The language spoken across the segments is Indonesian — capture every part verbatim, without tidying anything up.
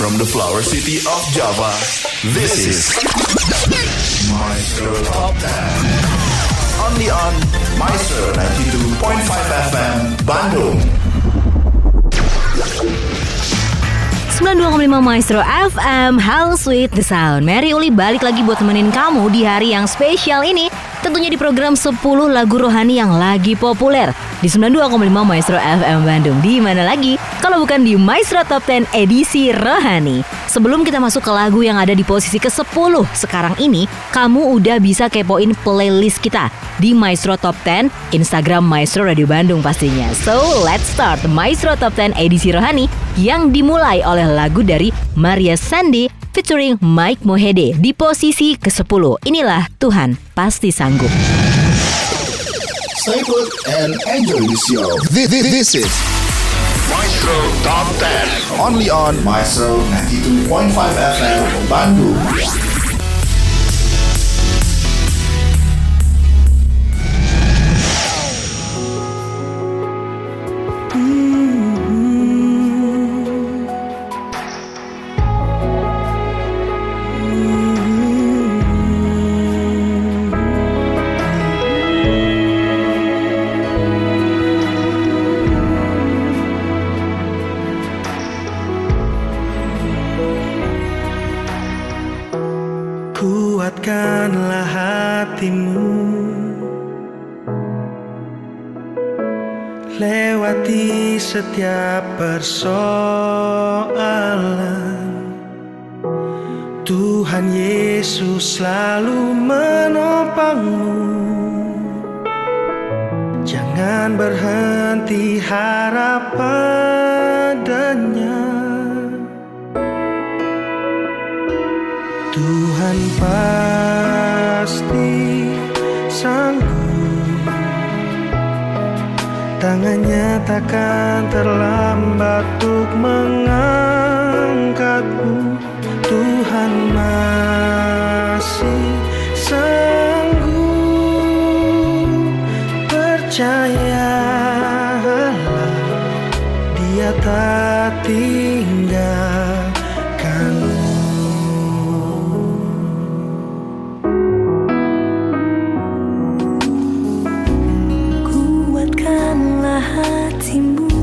from the flower city of Java, this is Maestro Top ten. Only on Maestro ninety-two point five F M Bandung. sembilan puluh dua koma lima Maestro F M, How Sweet the Sound. Mary Uli balik lagi buat temenin kamu di hari yang spesial ini. Tentunya di program sepuluh lagu rohani yang lagi populer di sembilan puluh dua koma lima Maestro F M Bandung. Di mana lagi kalau bukan di Maestro Top ten edisi rohani. Sebelum kita masuk ke lagu yang ada di posisi kesepuluh sekarang ini, kamu udah bisa kepoin playlist kita di Maestro Top ten, Instagram Maestro Radio Bandung pastinya. So let's start Maestro Top ten edisi rohani yang dimulai oleh lagu dari Maria Sandi featuring Mike Mohede di posisi kesepuluh. Inilah Tuhan Pasti Sanggup. Stay put and enjoy the show. This, this, this is Maestro Top ten. Only on Maestro ninety-two point five F M Bandung. Kuatkanlah hatimu, lewati setiap persoalan. Tuhan Yesus selalu menopangmu. Jangan berhenti harap padanya. Tuhan pasti sanggup, tangannya takkan terlambat untuk mengangkatmu. Tuhan masih sanggup, percayalah, Dia tak tinggalkanmu. Hatimu,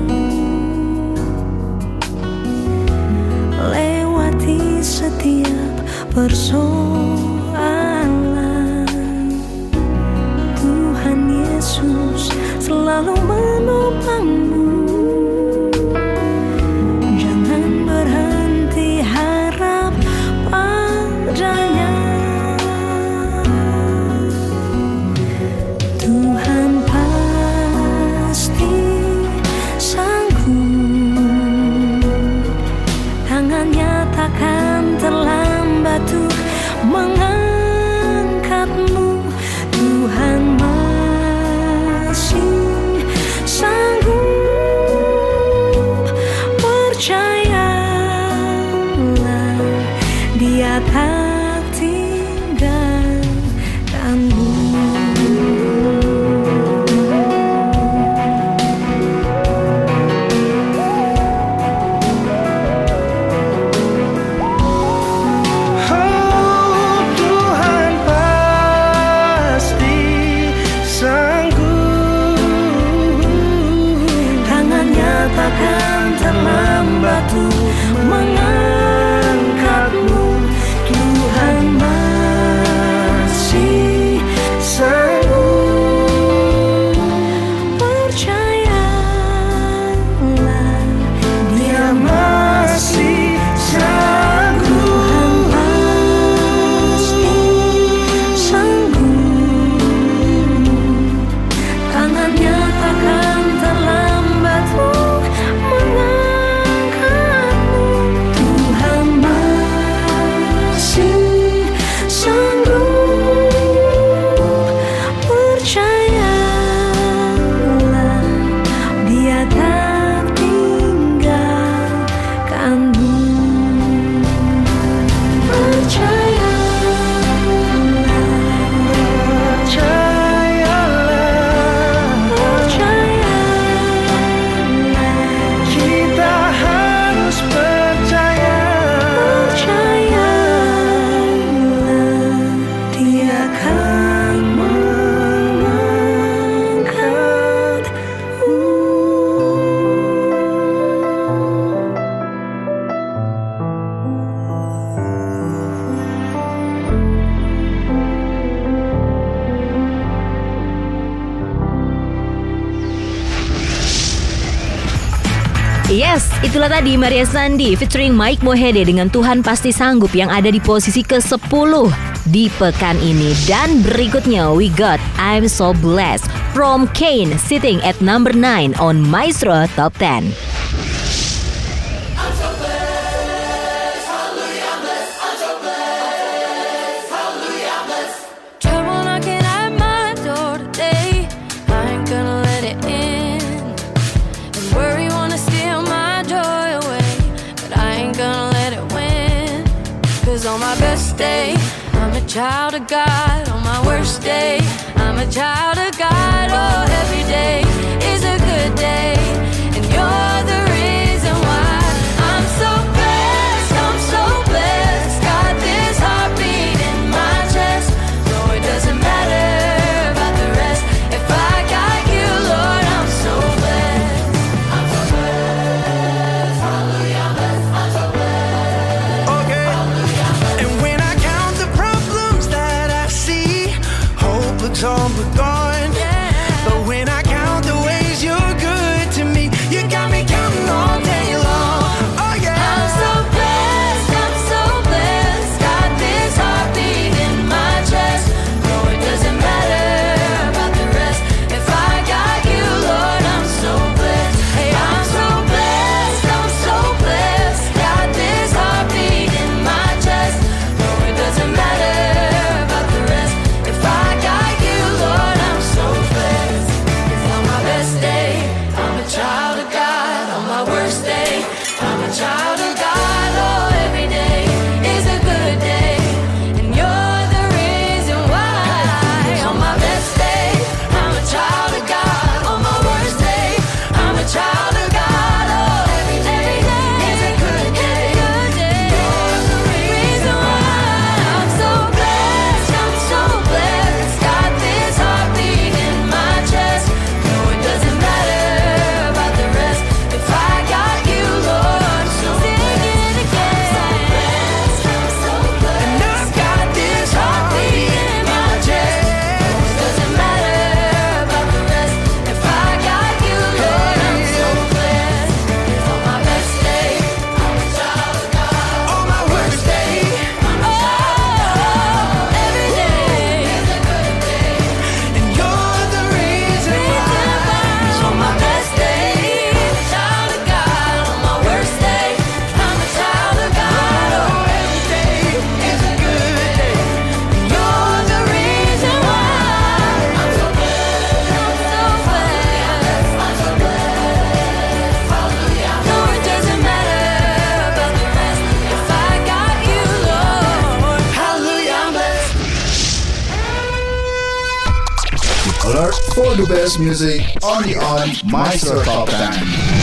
lewati setiap persoalan. Tuhan Yesus selalu menopangmu. Jangan berhenti harap padanya. Tuhan takkan terlambat untuk mengangkatmu. Tuhan masih sanggup, percayalah, Dia tak tinggalkanmu. Takkan terlambat untuk mengangkatmu. Tuhan Itulah tadi Maria Sandi featuring Mike Mohede dengan Tuhan Pasti Sanggup yang ada di posisi kesepuluh di pekan ini. Dan berikutnya we got I'm So Blessed from Kane sitting at number nine on Maestro Top ten. On my best day, I'm a child of God. On my worst day, I'm a child of God. Oh, every day is a good day, and you're the reason why I'm so blessed. I'm so blessed. Got this heartbeat in my chest. No, it doesn't matter about the rest. If I got you, Lord, I'm so blessed. I'm so blessed. Hallelujah, I'm blessed. I'm so blessed. Okay. And when I count the problems that I see, hope looks all but gone. Yeah. But when I count the ways you're good to me, you got me counting all day long. Oh yeah. I'm so blessed, I'm so blessed. Got this heartbeat in my chest. No, it doesn't matter about the rest. If I got you, Lord, I'm so blessed. Hey, I'm so blessed, I'm so blessed. Got this heartbeat in my chest. No, it doesn't matter about the rest. If I got you, Lord, I'm so blessed. 'Cause on my best day, I'm a child of God. On my worst day, I'm a child of God. Oh, every day is a good day, and you're the reason why. On my best day, I'm a child of God. On my worst day, I'm a child of God. Oh, every day is a good day, you're the reason why. I'm so blessed, I'm so blessed. Got this heartbeat in my chest. No, it doesn't matter about the rest. If I got you, Lord, so sing it again. I'm so blessed, And I've got this heartbeat in my chest. no, it doesn't matter about the rest. If I got you, Lord, I'm so blessed. 'Cause on my best day, I'm a child of God. On my worst day, Oh, every day is a good day. and you're the reason why. On my best day, I'm a child of God. On my worst day, I'm a child of God. Oh, every day is a good day. You're the reason why I'm so blessed. I'm so blessed. I'm so blessed. Hallelujah. No, it doesn't matter about the rest. If I got you, Lord. Hallelujah, I'm blessed. Alert for the best music only on Maestro Top ten.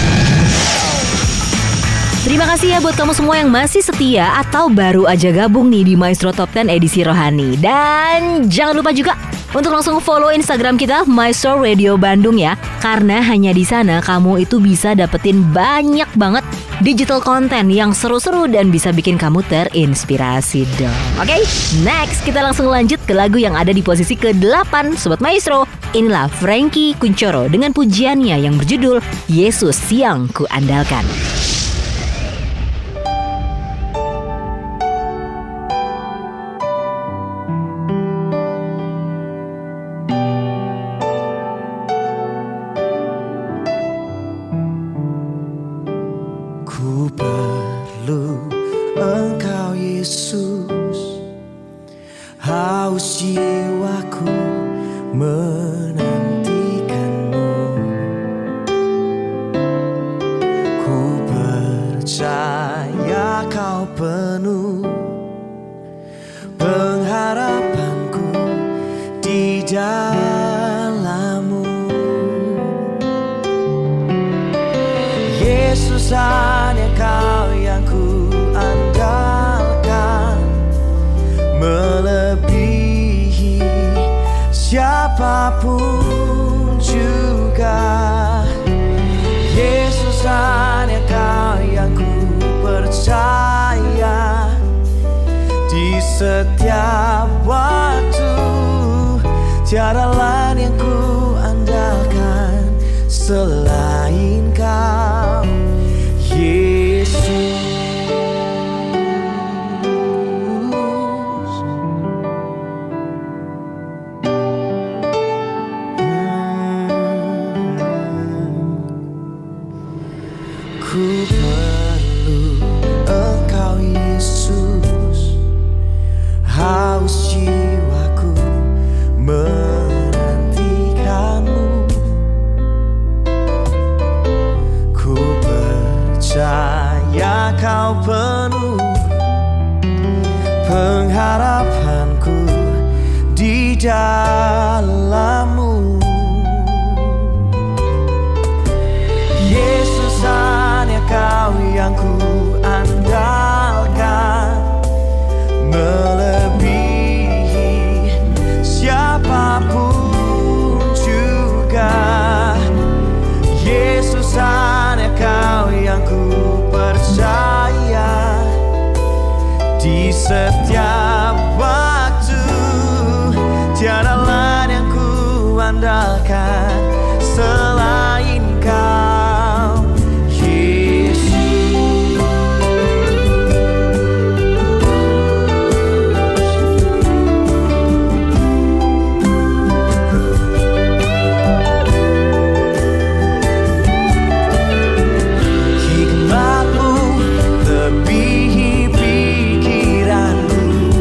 Terima kasih ya buat kamu semua yang masih setia atau baru aja gabung nih di Maestro Top ten edisi Rohani. Dan jangan lupa juga untuk langsung follow Instagram kita Maestro Radio Bandung ya. Karena hanya di sana kamu itu bisa dapetin banyak banget digital content yang seru-seru dan bisa bikin kamu terinspirasi dong. Oke, next kita langsung lanjut ke lagu yang ada di posisi kedelapan Sobat Maestro. Inilah Frankie Kuncoro dengan pujiannya yang berjudul Yesus yang Kuandalkan. Ku perlu Engkau Yesus, haus jiwaku menantikanmu. Ku percaya Kau penuh pengharapanku di dalam-Mu. Yesus, hanya Kau yang ku andalkan, melebihi siapapun juga. Yesus, hanya Kau yang ku percaya di setiap waktu. Tiada lain yang ku andalkan selain Kau, Yesus. Kau penuh pengharapanku di dalam-Mu. Yesus, hanya Kau yang ku andalkan, melebihi siapapun juga. Yesus, hanya Kau yang ku percaya di setiap waktu. Tiada lain yang ku andalkan selain Kau, Yesus. Hikmat-Mu lebihi pikiranku,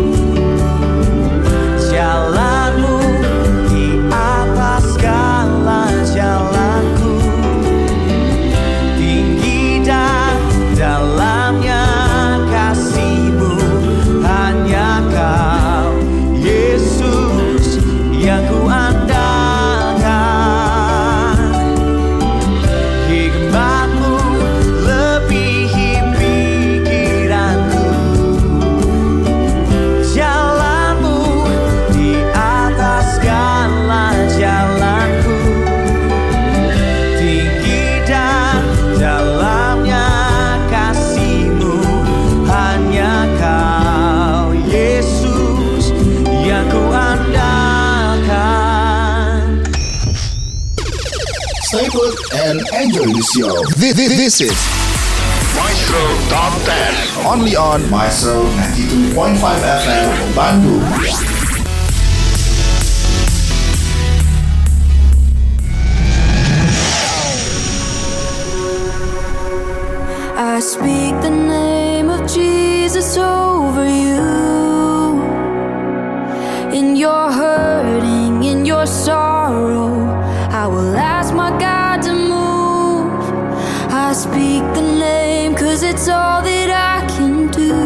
jalan-Mu di atas segala jalanku. Tinggi dan dalamnya kasih-Mu, hanya Kau, Yesus, yang ku andalkan. Hikmat-Mu lebihi pikiranku, jalan-Mu di atas segala jalanku. Tinggi dan dalamnya kasih-Mu, hanya Kau, Yesus, yang ku andalkan. Stay put and enjoy the show. This, this, this is Maestro Top ten. Only on Maestro ninety-two point five F M Bandung. I speak the name of Jesus over you. In your hurting, in your sorrow, I will ask my God to move. I speak the name 'cause it's all that I can do.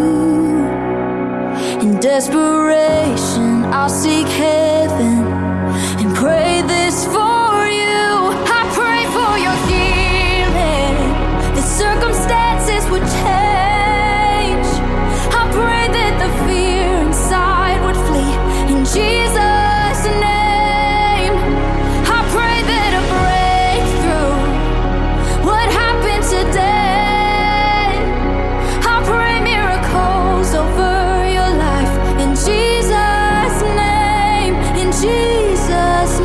In desperation, I'll seek heaven and pray this for you. I pray for your healing, the circumstances would change. I pray that the fear inside would flee in Jesus' name. I pray that a breakthrough would happen today. I pray miracles over your life in Jesus' name, in Jesus'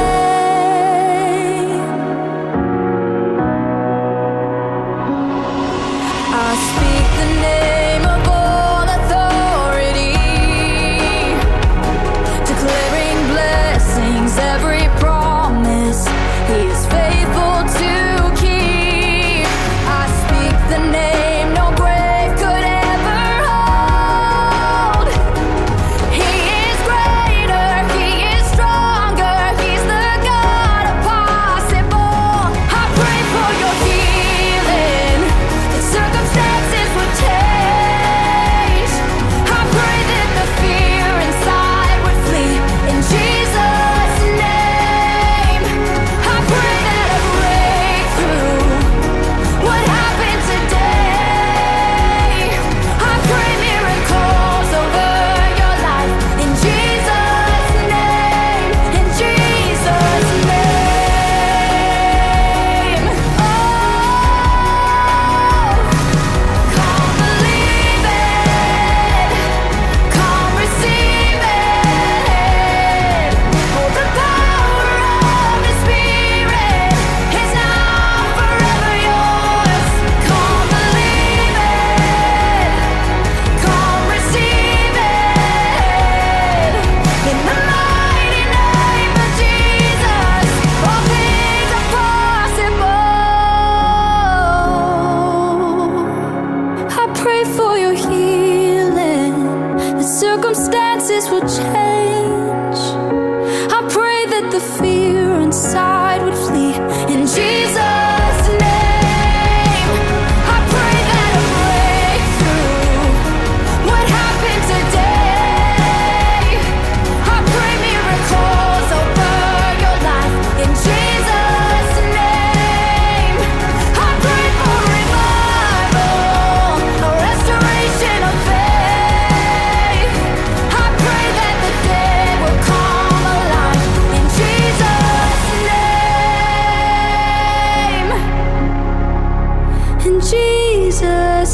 name. I speak the name of all authority, declaring blessings, every promise He is faithful to keep. I speak the name no grave could ever hold. He is greater, He is stronger, He's the God of possible. I pray for your healing, that circumstances would change. I pray that the fear inside would flee in Jesus' name. I pray that a breakthrough would happen today. I pray miracles over your life in Jesus' name, in Jesus' name. Oh, come believe it, come receive it. Oh, the power of His Spirit is now forever yours. Come believe it, come receive it. In the mighty name of Jesus, all things are possible. I pray for your healing, the circumstances will change. I pray that the fear inside would flee in Jesus' name. I pray that a breakthrough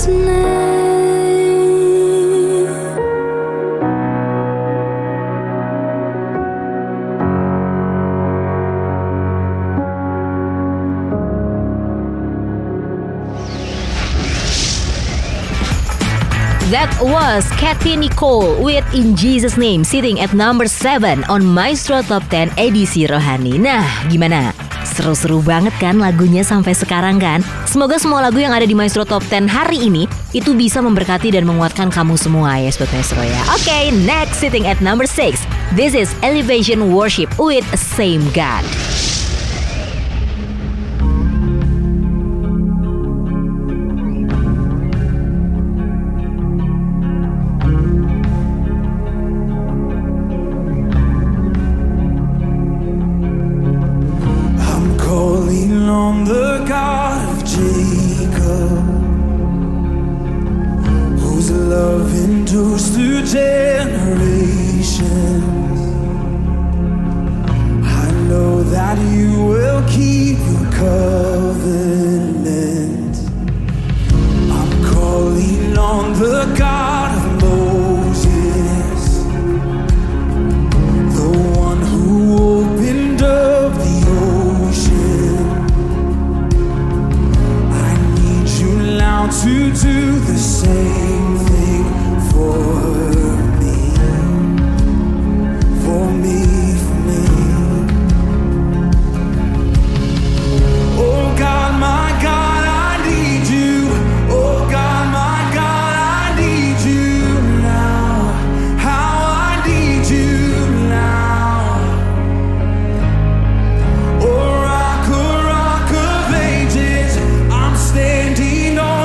His name. That was Kathy Nicole with In Jesus Name, sitting at number seven on Maestro Top ten edisi Rohani. Nah, gimana? Seru-seru banget kan lagunya sampai sekarang kan? Semoga semua lagu yang ada di Maestro Top ten hari ini itu bisa memberkati dan menguatkan kamu semua ya Sobat Maestro ya. Oke, okay, next sitting at number six. This is Elevation Worship with Same God. On the God of Jacob, whose love endures through generations. I know that you will keep your covenant. I'm calling on the God of Moses, the one who opened up the ocean. To do the same thing for me, for me, for me. Oh God, my God, I need you. Oh God, my God, I need you now. How I need you now. Oh rock, oh rock of ages, I'm standing on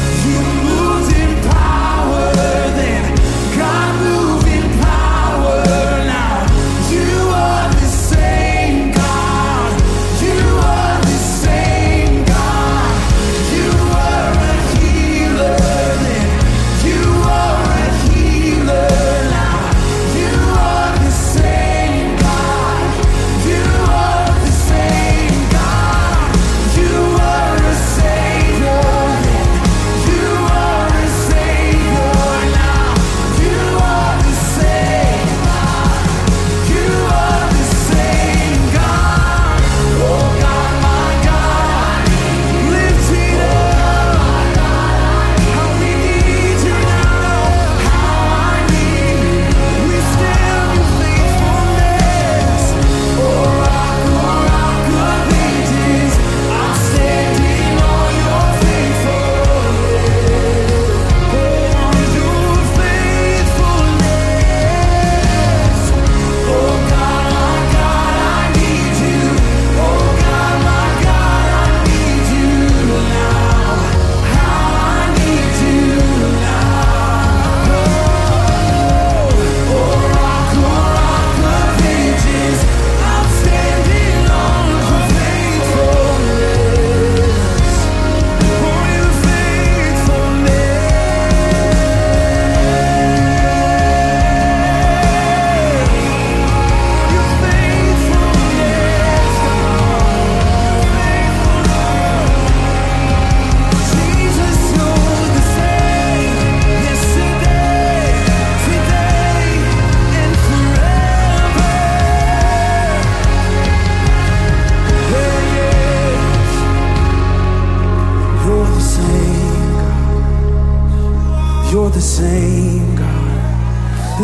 Power, then God moving power.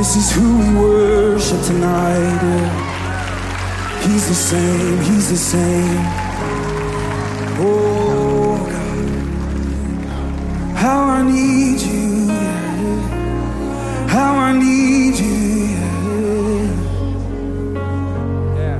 This is who we worship tonight. Yeah. He's the same, he's the same. Oh God, how I need you, yeah. How I need you, yeah.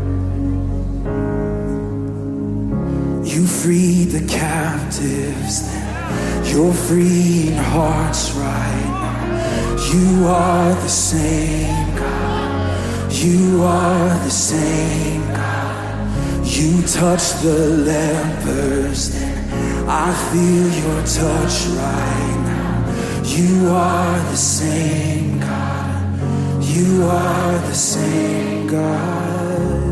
You freed the captives, you're freeing hearts right now. You are the same God, you are the same God. You touch the lepers, I feel your touch right now. You are the same God, you are the same God.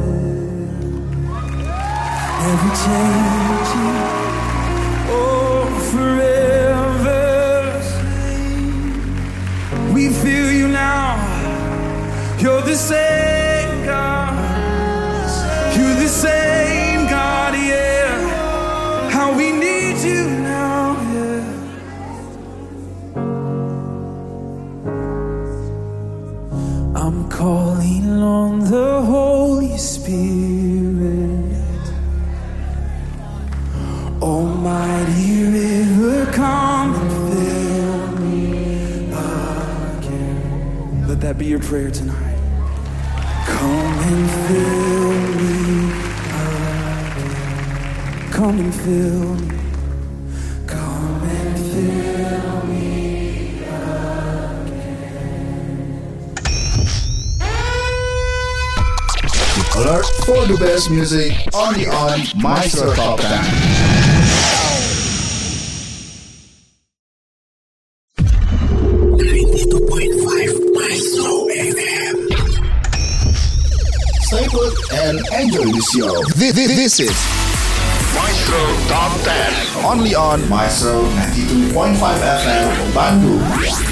Never changing, oh forever. We feel you now, you're the same God, you're the same God, yeah. How we need you now, yeah. I'm calling on the Holy Spirit, Almighty river, come and fill me again. Let that be your prayer tonight. Come and fill me again. Come and fill me. Come and fill me Alert for the best music only on Maestro Top ten. ninety-two point five Maestro F M. Stay put and enjoy the show. This, this, this is Maestro Top ten. Only on Maestro ninety-two point five F M Bandung.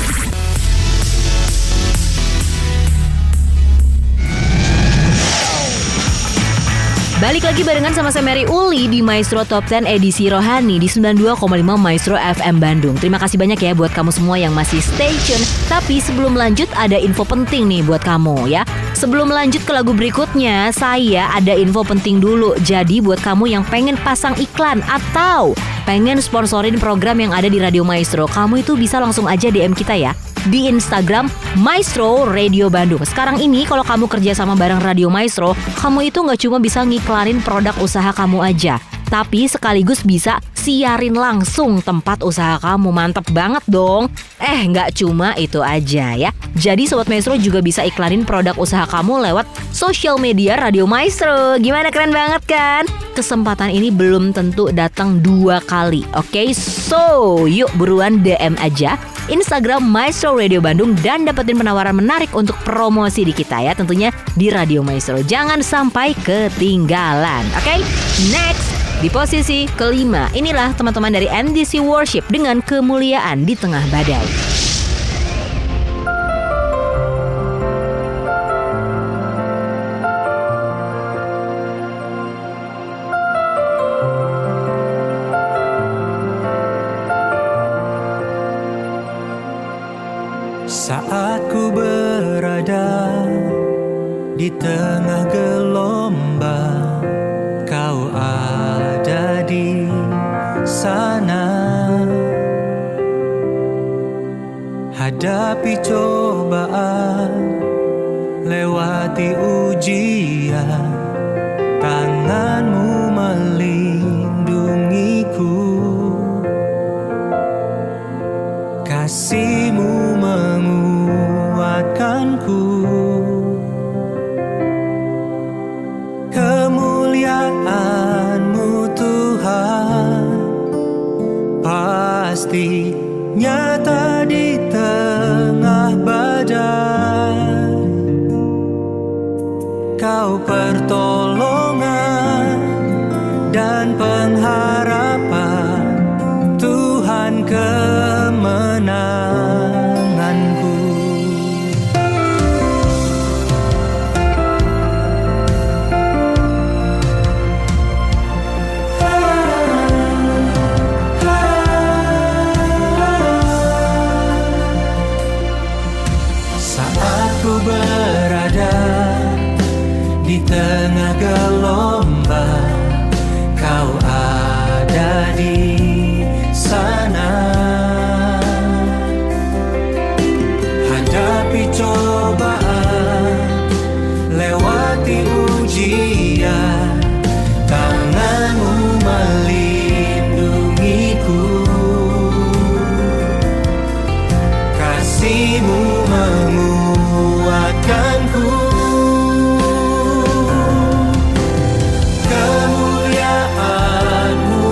Balik lagi barengan sama saya Mary Uli di Maestro Top sepuluh edisi Rohani di sembilan puluh dua koma lima Maestro F M Bandung. Terima kasih banyak ya buat kamu semua yang masih stay tune. Tapi sebelum lanjut ada info penting nih buat kamu ya. Sebelum lanjut ke lagu berikutnya, saya ada info penting dulu. Jadi buat kamu yang pengen pasang iklan atau pengen sponsorin program yang ada di Radio Maestro, kamu itu bisa langsung aja D M kita ya di Instagram Maestro Radio Bandung. Sekarang ini kalau kamu kerja sama bareng Radio Maestro, kamu itu gak cuma bisa ngiklanin produk usaha kamu aja, tapi sekaligus bisa siarin langsung tempat usaha kamu. Mantep banget dong. Eh gak cuma itu aja ya. Jadi Sobat Maestro juga bisa iklanin produk usaha kamu lewat social media Radio Maestro. Gimana, keren banget kan? Kesempatan ini belum tentu datang dua kali. Oke, okay? So yuk buruan D M aja Instagram Maestro Radio Bandung dan dapetin penawaran menarik untuk promosi di kita ya, tentunya di Radio Maestro. Jangan sampai ketinggalan. Oke, okay? Next di posisi kelima, inilah teman-teman dari M D C Worship dengan Kemuliaan di Tengah Badai. Saat ku berada di tengah gelombang, Kau ada di sana. Hadapi cobaan, lewati ujian, tangan-Mu melindungiku, kasih-Mu menguatkanku. Kemuliaan-Mu Tuhan pasti nyata di tengah badai. Kau pertolongan dan pengharapan, Tuhan kemenanganku. Saat berada di tengah gelombang, Kau ada di sana. Hadapi cobaan, lewati ujian, tangan-Mu melindungiku, kasih-Mu menguatkanku. Kemuliaan-Mu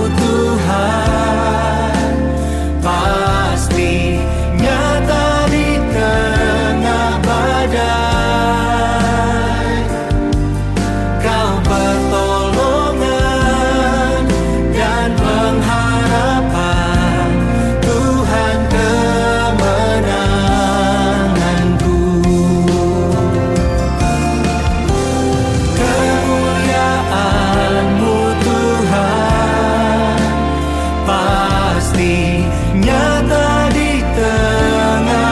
Tuhan pasti nyata di tengah badai. Kau pertolongan dan pengharapan, Tuhan kemenanganku. Kemuliaan-Mu Tuhan pasti nyata di tengah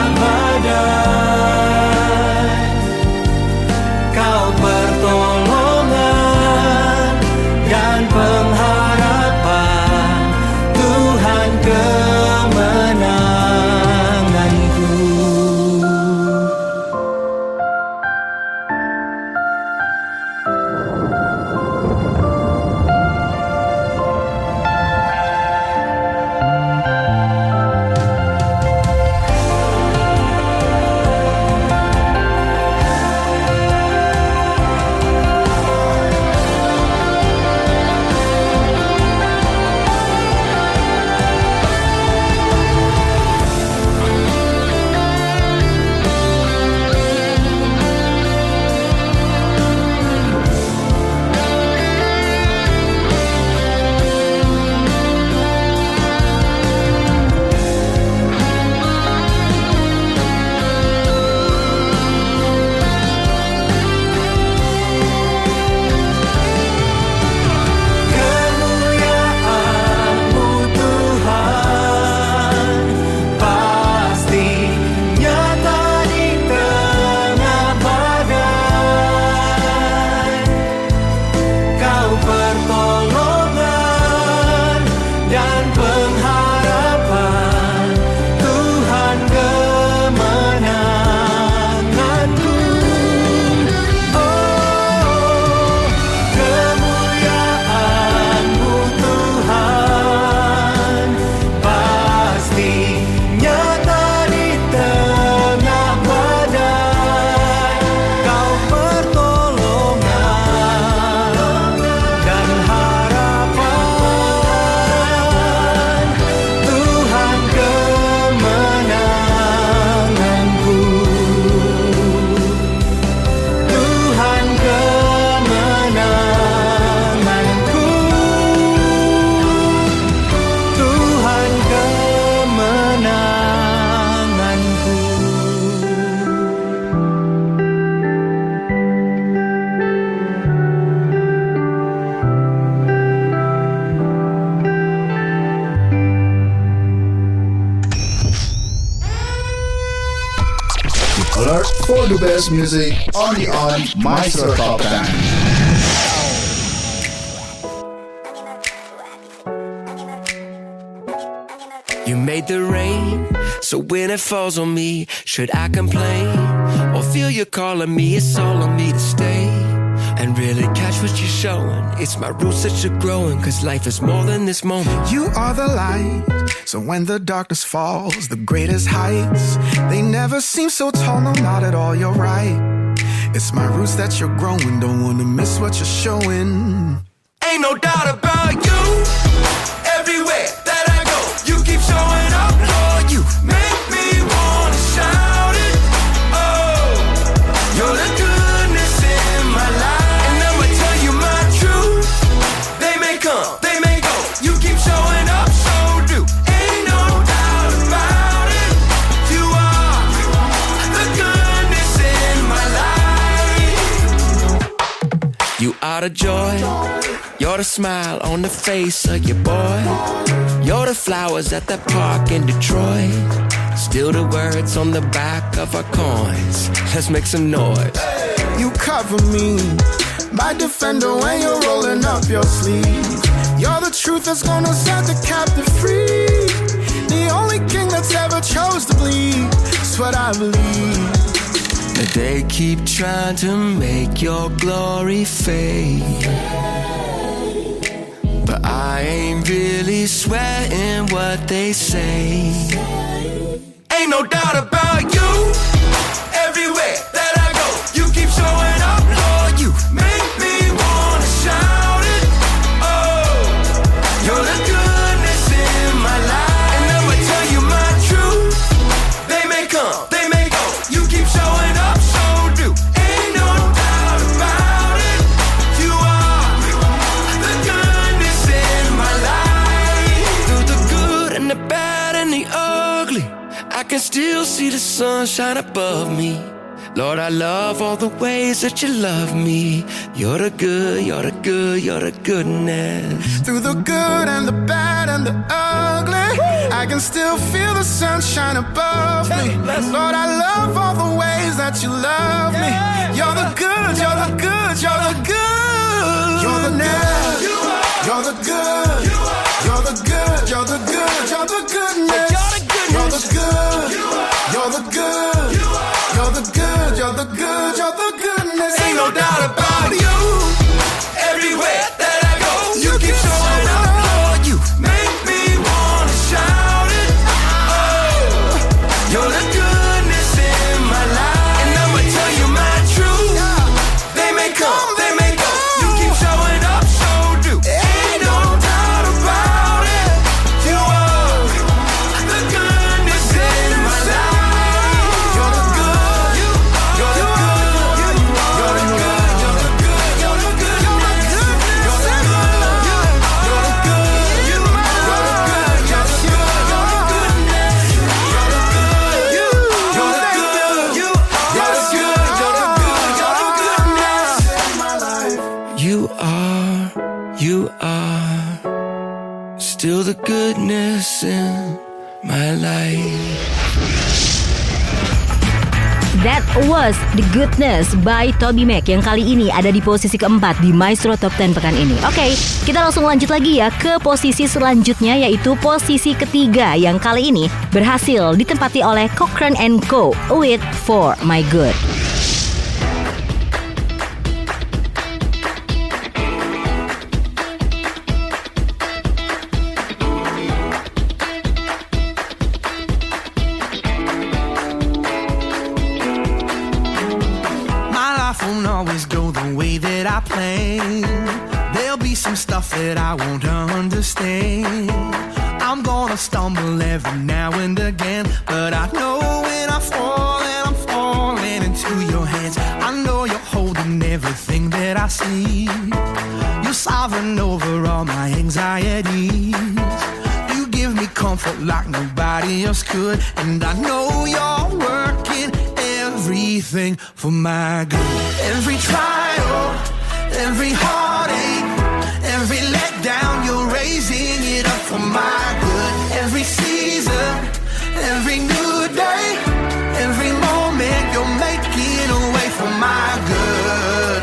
badai. Kau pertolongan dan pengharapan, Tuhan kemenanganku. Kemuliaan-Mu Tuhan pasti nyata di tengah badai. Kau pertolongan dan pengharapan, Tuhan kemenanganku. Oh, kemuliaan-Mu Tuhan pasti nyata di tengah badai. Kau pertolongan dan harapan, Tuhan kemenanganku. Tuhan kemenanganku. Tuhan kemenanganku. Alert for the best music only on Maestro Top ten. You made the rain, so when it falls on me, should I complain or feel you calling me? It's all on me to stay and really catch what you're showing. It's my roots that you're growing, cause life is more than this moment. You are the light, so when the darkness falls, the greatest heights, they never seem so tall, no, not at all, you're right. It's my roots that you're growing, don't wanna miss what you're showing. Ain't no doubt about you. Everywhere that I go, you keep showing up, Lord. You make me wanna shout it. Oh, you're the goodness in my life, and I'ma tell you my truth. They may come, they may go. You keep showing up, so do. Ain't no doubt about it. You are the goodness in my life. You are the joy. You're the smile on the face of your boy. You're the flowers at that park in Detroit. Still the words on the back of our coins. Let's make some noise. You cover me, my defender, when you're rolling up your sleeve. You're the truth that's gonna set the captive free. The only king that's ever chose to bleed. That's what I believe. But they keep trying to make your glory fade. But I ain't really sweating what they say. Ain't no doubt about you. Everywhere that I go, you keep showing up, Lord. You make me wanna shout it. Oh, you're the goodness in my life. And I'ma tell you my truth. They may come, they may go. You keep showing up, so do. Ain't no doubt about it. You are the goodness in my life. Through the good and the bad and the ugly, I can still see the sun shine above me. Lord, I love all the ways that you love me. You're the good, you're the good, you're the goodness. Through the good and the bad and the ugly, I can still feel the sunshine above me. Lord, I love all the ways that you love me. You're the good, you're the good, you're the good. You're the good, you're the good, you're the good, you're the good, you're the goodness. You're the good, you're the good, you're the good, you're the good, you're the goodness. Ain't no doubt about you. Everywhere that I go, you keep showing up, Lord. You make me wanna shout it. Oh, you're the goodness in my life. And I'ma tell you my truth. They may come, they may go. You keep showing up, so do. Ain't no doubt about it. You are the goodness in my life. You're the good, you're the good, you're the good, you're the good, you're the good, you're the good, you're the good, you're the good, you're the good, you're the good, you're the goodness, you're the good, you're the good, you're the good, you're the good, you're the goodness. You are, you are still the goodness in my life. That was The Goodness by TobyMac yang kali ini ada di posisi keempat di Maestro Top sepuluh pekan ini. Oke, kita langsung lanjut lagi ya ke posisi selanjutnya, yaitu posisi ketiga yang kali ini berhasil ditempati oleh Cochran and Co with For My Good. Won't always go the way that I plan. There'll be some stuff that I won't understand. I'm gonna stumble every now and again, but I know when I fall and I'm falling into your hands. I know you're holding everything that I see. You're sovereign over all my anxieties. You give me comfort like nobody else could, and I know you're working everything for my good. Every trial, every heartache, every letdown, you're raising it up for my good. Every season, every new day, every moment, you're making a way for my good.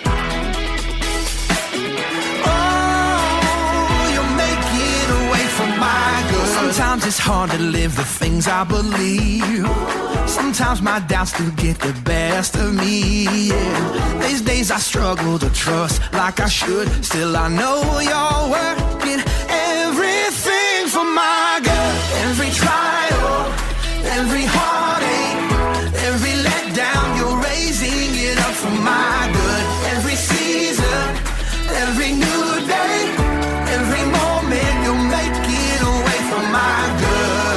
Oh, you're making a way for my good. Sometimes it's hard to live the things I believe. Sometimes my doubts do get the best of me, yeah. These days I struggle to trust like I should. Still I know you're working everything for my good. Every trial, every heartache, every letdown, you're raising it up for my good. Every season, every new day, every moment, you're making a way for my good.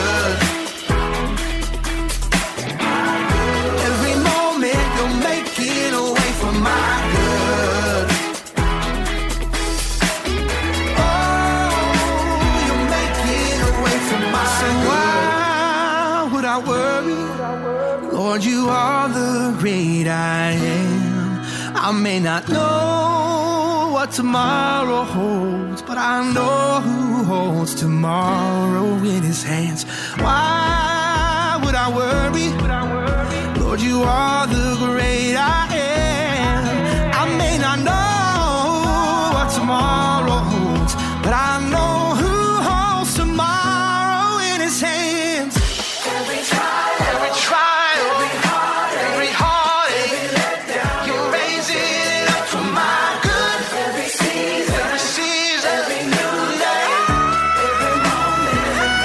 Lord, you are the great I am. I may not know what tomorrow holds, but I know who holds tomorrow in his hands. Why would I worry? Lord, you are the great I am. I may not know what tomorrow holds, but I know who holds tomorrow in his hands. Every trial, every trial, every heartache, every heartache, every letdown, you raise it up for my good. Every season, every season, every new day, every moment,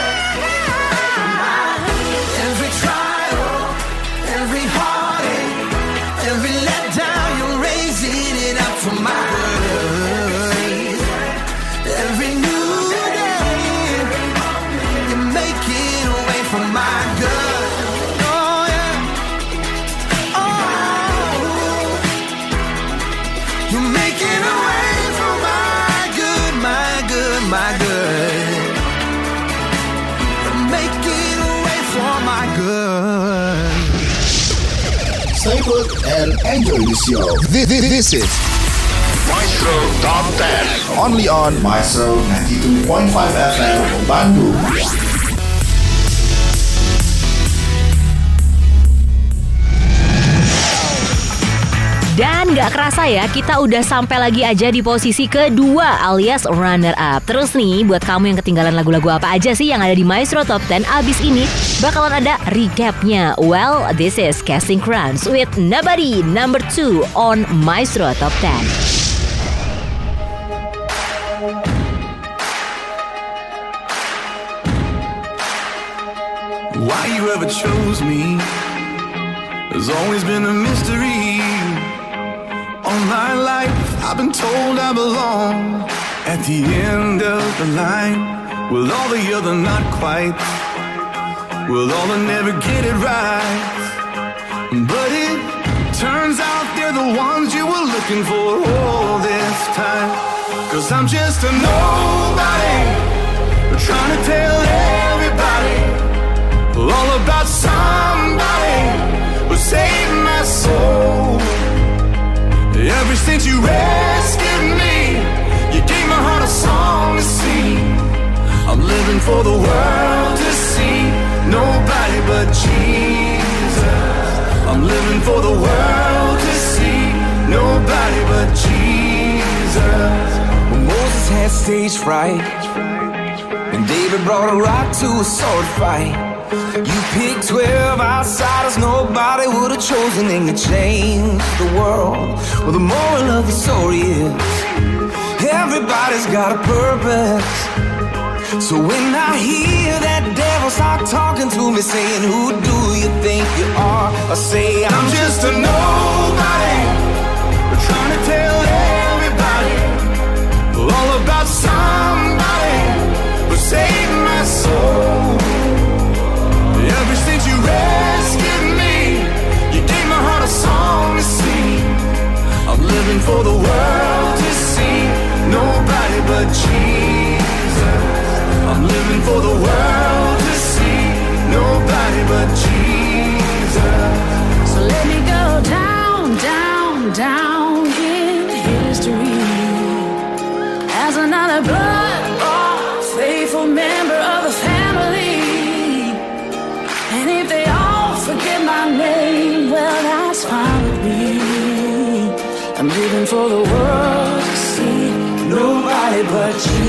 every trial, every heartache, every letdown, you raise it up for my good. Every new day, you make it away from my good. Oh yeah, oh, you make it away from my good, my good, my good. You make it away from my good. Stay put and enjoy the show. This, this, this is Maestro Top ten. Only on Maestro ninety-two point five F M Bandung. Dan gak kerasa ya, kita udah sampai lagi aja di posisi kedua alias runner up. Terus nih, buat kamu yang ketinggalan lagu-lagu apa aja sih yang ada di Maestro Top ten, abis ini bakalan ada recapnya. Well, this is Casting Crowns with Nobody number two on Maestro Top ten. Why you ever chose me has always been a mystery. All my life I've been told I belong at the end of the line, with all the other not quite, with all the never get it right. But it turns out they're the ones you were looking for all this time. Cause I'm just a nobody, trying to tell everybody all about somebody who saved my soul. Ever since you rescued me, you gave my heart a song to sing. I'm living for the world to see, nobody but Jesus. I'm living for the world to see, nobody but Jesus. When Moses had stage fright, and David brought a rock to a sword fight, you picked twelve outsiders nobody would have chosen, and you changed the world. Well, the moral of the story is everybody's got a purpose. So when I hear that devil start talking to me, saying, who do you think you are? I say, I'm just a nobody, trying to tell everybody all about somebody who saved my soul. Ever since you rescued me, you gave my heart a song to sing. I'm living for the world to see, nobody but Jesus. I'm living for the world to see, nobody but Jesus. So let me go down, down, down in history as another blood-bought, faithful member of the family. And if they all forget my name, well, that's fine with me. I'm living for the world to see, nobody but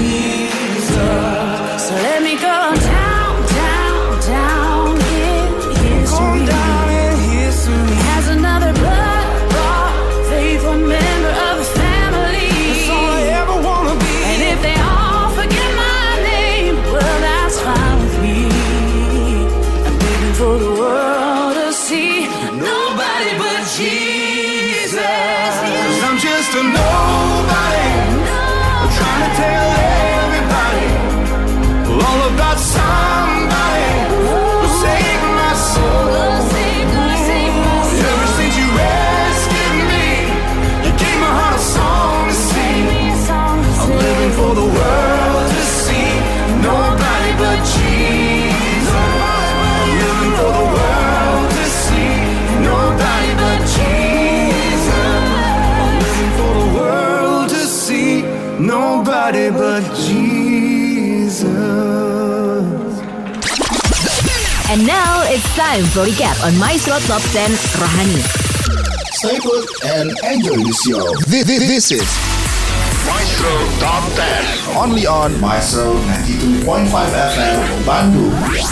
Jesus. So let me go down, down, down in history, down in history as another blood-bought, faithful member of the family. That's all I ever wanna be. And if they all forget my name, well, that's fine with me. For the world to see, nobody but Jesus. Cause I'm just a nobody, No. trying to tell everybody all about somebody who saved my soul. Ever since you rescued me, you gave my heart a song to sing. I'm living for the world to see, nobody but Jesus. I'm living for the world to see, nobody but Jesus. I'm living for the world to see, nobody but Jesus. And now it's time for recap on Maestro Top ten Rohani. Stay put and enjoy the show. This, this, this is Maestro Top ten. Only on Maestro ninety-two point five F M Bandung.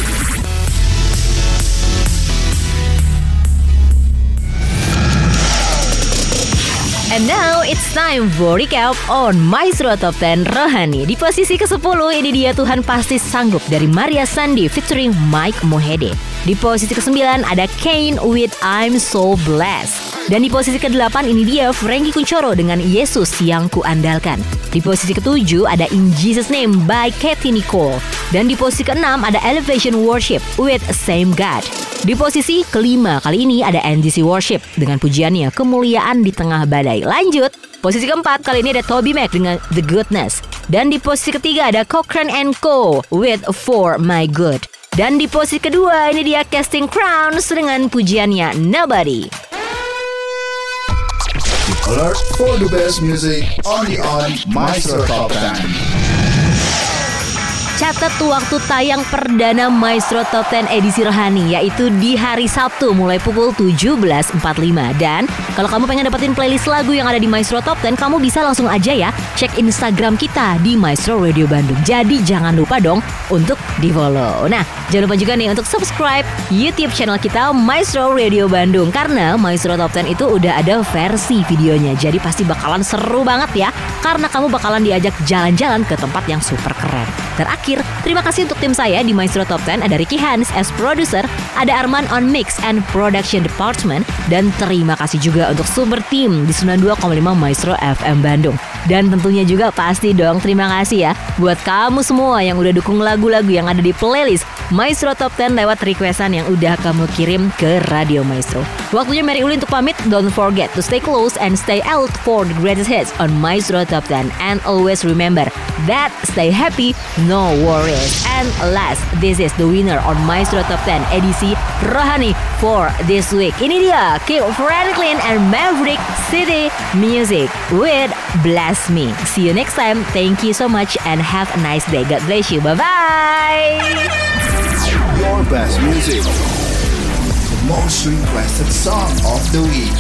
And now it's time for recap on Maestro Top ten Rohani. Di posisi kesepuluh ini dia Tuhan Pasti Sanggup dari Maria Sandi featuring Mike Mohede. Di posisi kesembilan ada Kane with I'm So Blessed. Dan di posisi kedelapan ini dia Frankie Kuncoro dengan Yesus Yang Kuandalkan. Di posisi ketujuh ada In Jesus Name by Katy Nicole. Dan di posisi keenam ada Elevation Worship with Same God. Di posisi kelima kali ini ada N D C Worship dengan pujiannya Kemuliaan di Tengah Badai. Lanjut, posisi keempat kali ini ada Toby Mac dengan The Goodness. Dan di posisi ketiga ada Cochrane and Co with For My Good. Dan di posisi kedua ini dia Casting Crowns dengan pujiannya Nobody. Alert for the best music only on Maestro Top ten. Catat waktu tayang perdana Maestro Top ten edisi Rohani, yaitu di hari Sabtu mulai pukul tujuh belas empat puluh lima. Dan kalau kamu pengen dapetin playlist lagu yang ada di Maestro Top ten, kamu bisa langsung aja ya cek Instagram kita di Maestro Radio Bandung. Jadi jangan lupa dong untuk di follow. Nah, jangan lupa juga nih untuk subscribe YouTube channel kita Maestro Radio Bandung, karena Maestro Top ten itu udah ada versi videonya. Jadi pasti bakalan seru banget ya, karena kamu bakalan diajak jalan-jalan ke tempat yang super keren. Terakhir, terima kasih untuk tim saya di Maestro Top ten. Ada Ricky Hans as producer, ada Arman on Mix and Production Department, dan terima kasih juga untuk super team di sembilan puluh dua koma lima Maestro F M Bandung. Dan tentunya juga pasti dong terima kasih ya buat kamu semua yang udah dukung lagu-lagu yang ada di playlist Maestro Top ten lewat requestan yang udah kamu kirim ke Radio Maestro. Waktunya Mary Uli untuk pamit. Don't forget to stay close and stay out for the greatest hits on Maestro Top ten. And always remember that stay happy, no worries. And last, this is the winner on Maestro Top ten edisi Rohani for this week. Ini dia Kim Franklin and Maverick City Music with Bless Me. See you next time. Thank you so much and have a nice day. God bless you. Bye-bye. Your best music. The most requested song of the week.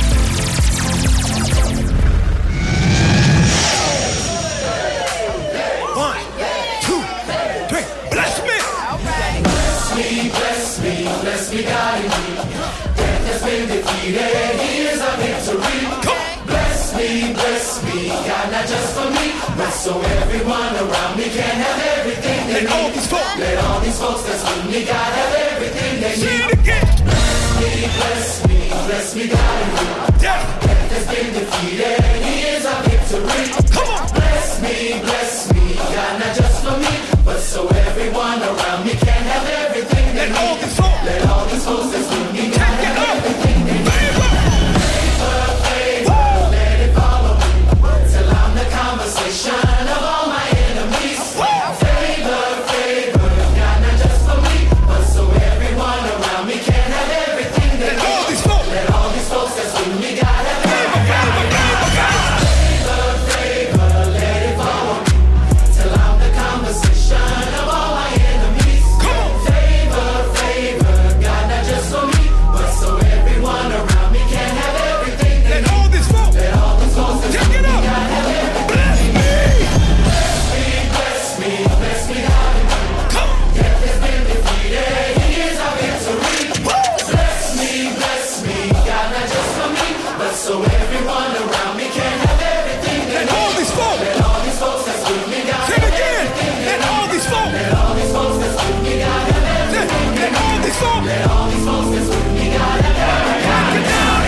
One, two, three. Bless me. Bless me, bless me, bless me, God in me. Death has been defeated. Here's our victory. Come on. Bless me, bless me, God, not just for me, but so everyone around me can have everything they need. Let all these folks, let all these folks that's with me, God, have everything they need. Say it again. Bless me, bless me, bless me, God in me. Death, death has been defeated. Here's our victory. Come on. Bless me, bless me, God, not just for me, but so everyone around me can have everything they need. Let all these folks, let all these folks that's with me, God, have everything they need. Favor, favor, let it follow me till I'm the conversation of all my enemies. Favor, favor, God, not just for me, but so everyone around me can have everything they need. Let all these folks, let all these folks that's with me, God, have everything they need. Favor, favor, let it follow me till I'm the conversation of all my enemies. Favor, favor, God, not just for me, but so everyone around me can have everything they need. Let all these folks, let all these folks that's with me, God, have everything. Bless me, bless me, bless me, God. Come on. Death has been defeated. Here's our victory. Bless me, bless me, God, not just for me, but so everyone around me can have everything they need. Let all these folks, let all these folks that's with me, God. Say it again. Let all these folks, let all these folks that's with me, God, have everything. Let all these folks, let all these folks that's with me, God, have everything.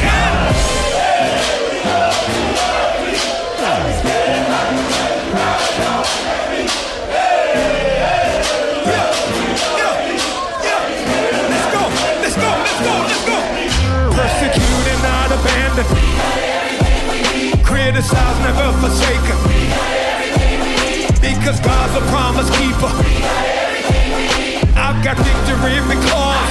Let's go, let's go, let's go, let's go. Persecuted, not abandoned. Criticized, never forsaken. Because God's a promise keeper. I've got victory because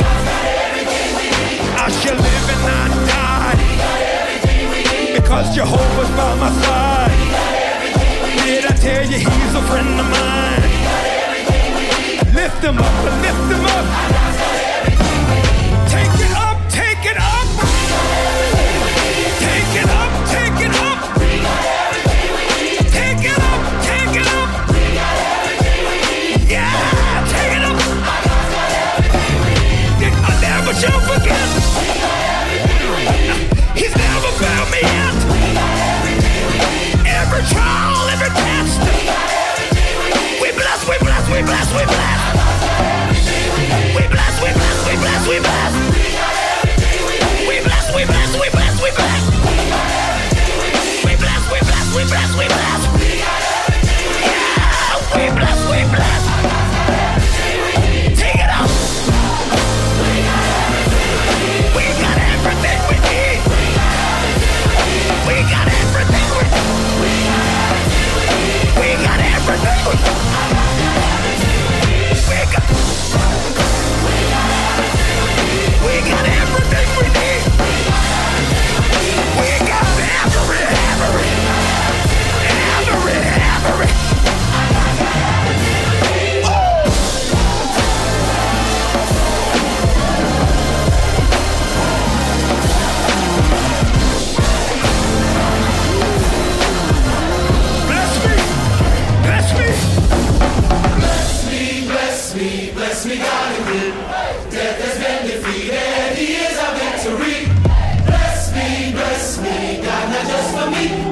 I shall live and not die. Because Jehovah's by my side. Did I tell you he's a friend of mine? Lift him up, lift him up.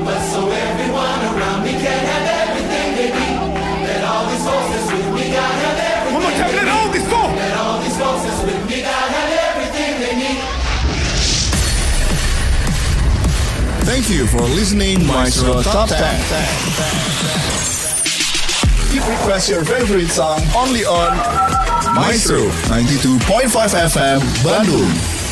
but so everyone around me can have everything they need. Let all these forces with me, God have everything. One more time, let all these forces. Let all these forces with me, God have everything they need. Thank you for listening Maestro Top ten. Keep request your favorite song only on Maestro ninety-two point five F M Bandung.